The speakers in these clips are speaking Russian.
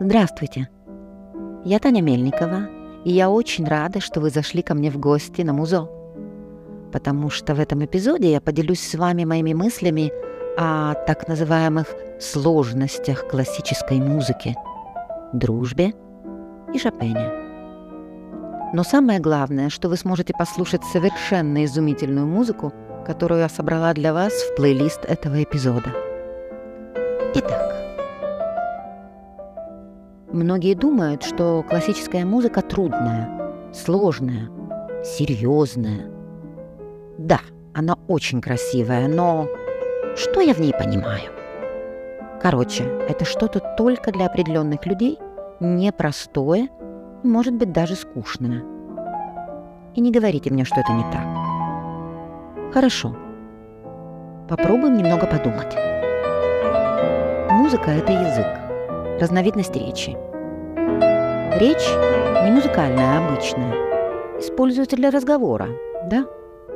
Здравствуйте, я Таня Мельникова, и я очень рада, что вы зашли ко мне в гости на Музо, потому что в этом эпизоде я поделюсь с вами моими мыслями о так называемых сложностях классической музыки, дружбе и Шопене. Но самое главное, что вы сможете послушать совершенно изумительную музыку, которую я собрала для вас в плейлист этого эпизода. Итак, многие думают, что классическая музыка трудная, сложная, серьезная. Да, она очень красивая, но что я в ней понимаю? Короче, это что-то только для определенных людей, непростое, может быть, даже скучное. И не говорите мне, что это не так. Хорошо. Попробуем немного подумать. Музыка – это язык, разновидность речи. Речь не музыкальная, а обычная. Используется для разговора, да?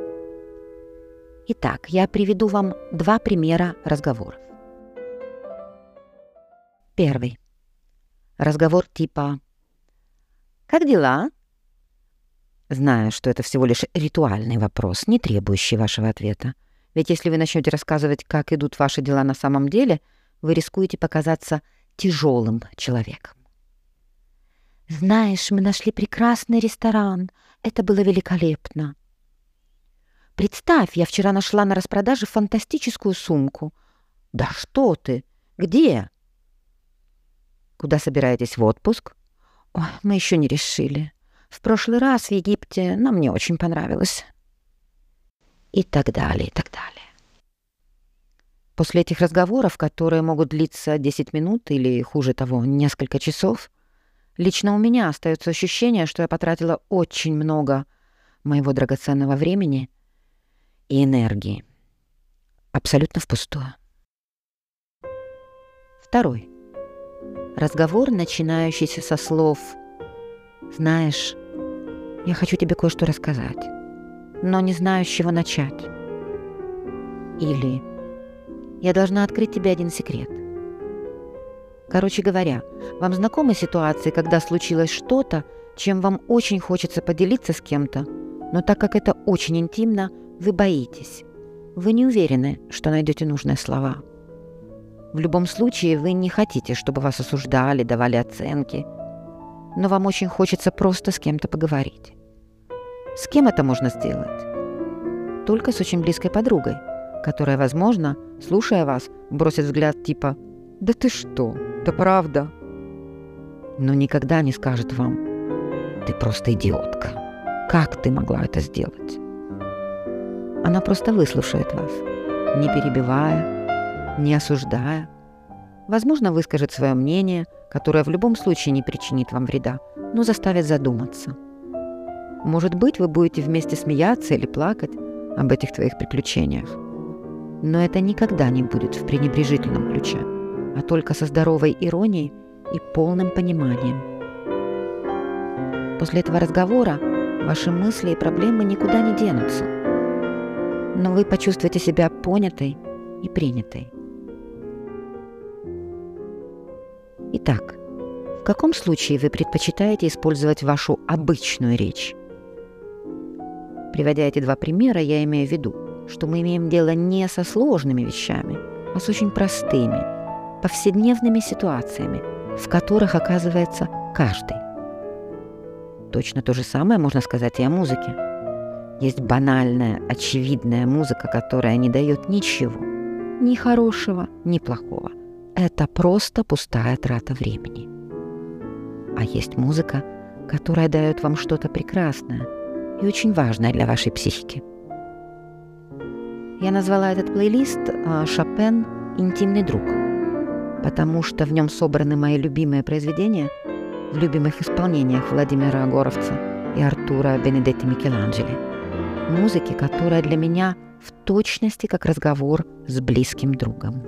Итак, я приведу вам два примера разговоров. Первый. Разговор типа «Как дела?» Знаю, что это всего лишь ритуальный вопрос, не требующий вашего ответа. Ведь если вы начнете рассказывать, как идут ваши дела на самом деле, вы рискуете показаться тяжелым человеком. «Знаешь, мы нашли прекрасный ресторан. Это было великолепно. Представь, я вчера нашла на распродаже фантастическую сумку. Да что ты? Где? Куда собираетесь в отпуск? Ой, мы еще не решили. В прошлый раз в Египте нам не очень понравилось». И так далее, и так далее. После этих разговоров, которые могут длиться 10 минут или, хуже того, несколько часов, лично у меня остается ощущение, что я потратила очень много моего драгоценного времени и энергии. Абсолютно впустую. Второй. Разговор, начинающийся со слов «Знаешь, я хочу тебе кое-что рассказать, но не знаю, с чего начать». Или «Я должна открыть тебе один секрет». Короче говоря, вам знакомы ситуации, когда случилось что-то, чем вам очень хочется поделиться с кем-то, но так как это очень интимно, вы боитесь. Вы не уверены, что найдете нужные слова. В любом случае, вы не хотите, чтобы вас осуждали, давали оценки, но вам очень хочется просто с кем-то поговорить. С кем это можно сделать? Только с очень близкой подругой, которая, возможно, слушая вас, бросит взгляд типа «Да ты что? Да правда?» Но никогда не скажет вам «Ты просто идиотка. Как ты могла это сделать?» Она просто выслушает вас, не перебивая, не осуждая. Возможно, выскажет свое мнение, которое в любом случае не причинит вам вреда, но заставит задуматься. Может быть, вы будете вместе смеяться или плакать об этих твоих приключениях. Но это никогда не будет в пренебрежительном ключе, а только со здоровой иронией и полным пониманием. После этого разговора ваши мысли и проблемы никуда не денутся, но вы почувствуете себя понятой и принятой. Итак, в каком случае вы предпочитаете использовать вашу обычную речь? Приводя эти два примера, я имею в виду, что мы имеем дело не со сложными вещами, а с очень простыми, повседневными ситуациями, в которых оказывается каждый. Точно то же самое можно сказать и о музыке. Есть банальная, очевидная музыка, которая не дает ничего, ни хорошего, ни плохого. Это просто пустая трата времени. А есть музыка, которая дает вам что-то прекрасное и очень важное для вашей психики. Я назвала этот плейлист «Шопен. Интимный друг», потому что в нем собраны мои любимые произведения в любимых исполнениях Владимира Горовца и Артура Бенедетти Микеланджело. Музыки, которая для меня в точности как разговор с близким другом.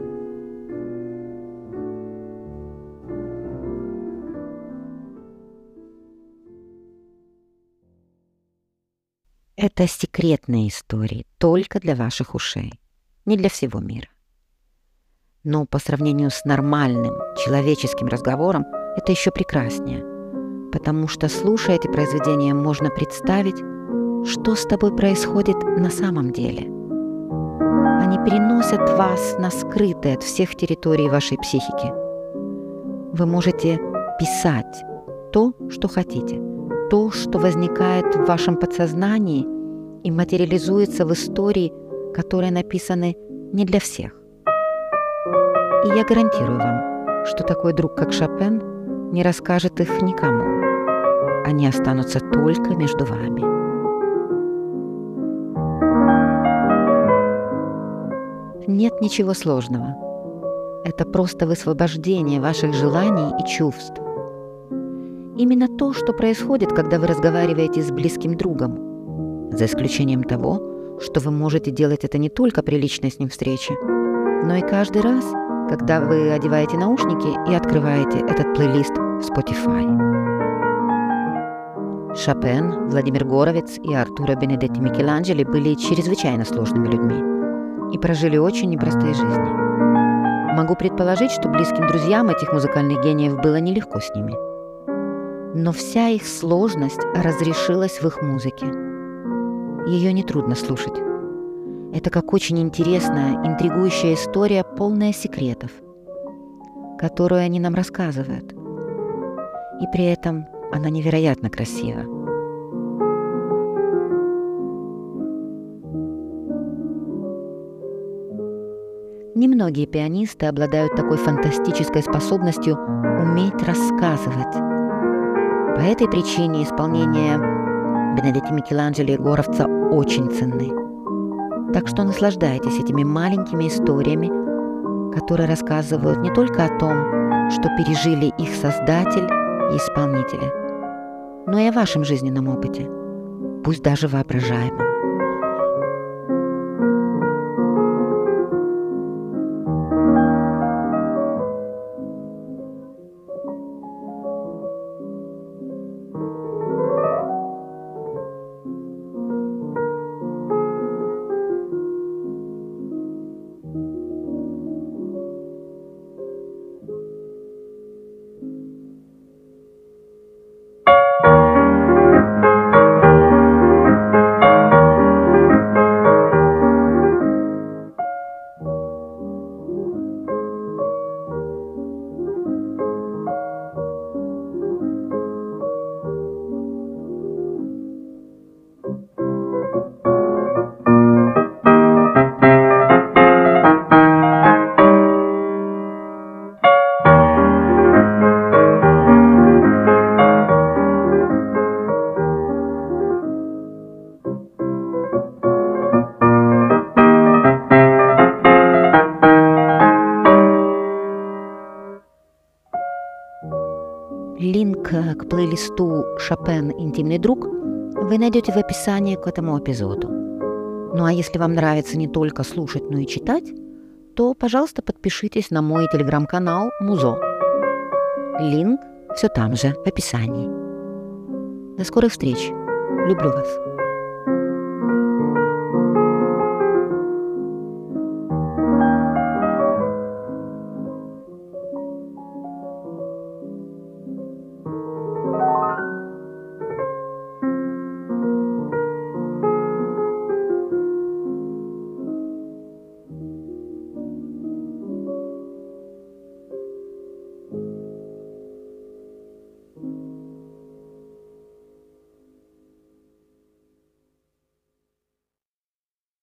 Это секретные истории только для ваших ушей, не для всего мира. Но по сравнению с нормальным человеческим разговором это еще прекраснее, потому что, слушая эти произведения, можно представить, что с тобой происходит на самом деле. Они переносят вас на скрытые от всех территорий вашей психики. Вы можете писать то, что хотите, то, что возникает в вашем подсознании и материализуется в истории, которые написаны не для всех. И я гарантирую вам, что такой друг, как Шопен, не расскажет их никому. Они останутся только между вами. Нет ничего сложного. Это просто высвобождение ваших желаний и чувств. Именно то, что происходит, когда вы разговариваете с близким другом, за исключением того, что вы можете делать это не только при личной с ним встрече, но и каждый раз, когда вы одеваете наушники и открываете этот плейлист в Spotify. Шопен, Владимир Горовец и Артуро Бенедетти Микеланджело были чрезвычайно сложными людьми и прожили очень непростые жизни. Могу предположить, что близким друзьям этих музыкальных гениев было нелегко с ними. Но вся их сложность разрешилась в их музыке. Ее нетрудно слушать. Это как очень интересная, интригующая история, полная секретов, которую они нам рассказывают. И при этом она невероятно красива. Немногие пианисты обладают такой фантастической способностью уметь рассказывать. По этой причине исполнения Бенедетти Микеланджело и Горовца очень ценны. Так что наслаждайтесь этими маленькими историями, которые рассказывают не только о том, что пережили их создатель и исполнители, но и о вашем жизненном опыте, пусть даже воображаемом. Линк к плейлисту «Шопен. Интимный друг» вы найдете в описании к этому эпизоду. Ну а если вам нравится не только слушать, но и читать, то, пожалуйста, подпишитесь на мой телеграм-канал «Музо». Линк все там же, в описании. До скорых встреч. Люблю вас.